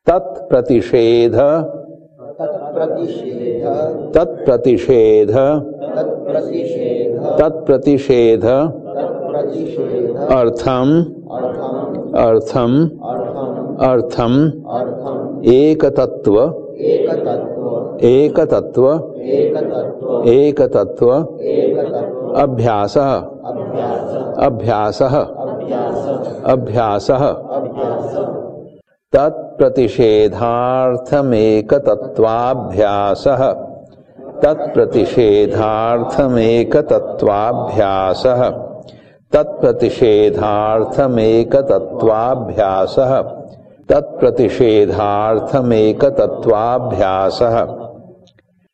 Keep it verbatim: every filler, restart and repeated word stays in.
तत्प्रतिषेध तत्प्रतिषेध तत्प्रतिषेध तत्प्रतिषेध तत्प्रतिषेध तत्प्रतिषेध अर्थम अर्थम अर्थम अर्थम अर्थम अर्थम एकतत्व एकतत्व एकतत्व एकतत्व एकतत्व एकतत्व अभ्यासः अभ्यासः अभ्यासः अभ्यासः अभ्यासः तत्प्रतिषेधार्थमेकतत्वाभ्यासः तत्प्रतिषेधार्थमेकतत्वाभ्यासः तत्प्रतिषेधार्थमेकतत्वाभ्यासः तत्प्रतिषेधार्थमेकतत्वाभ्यासः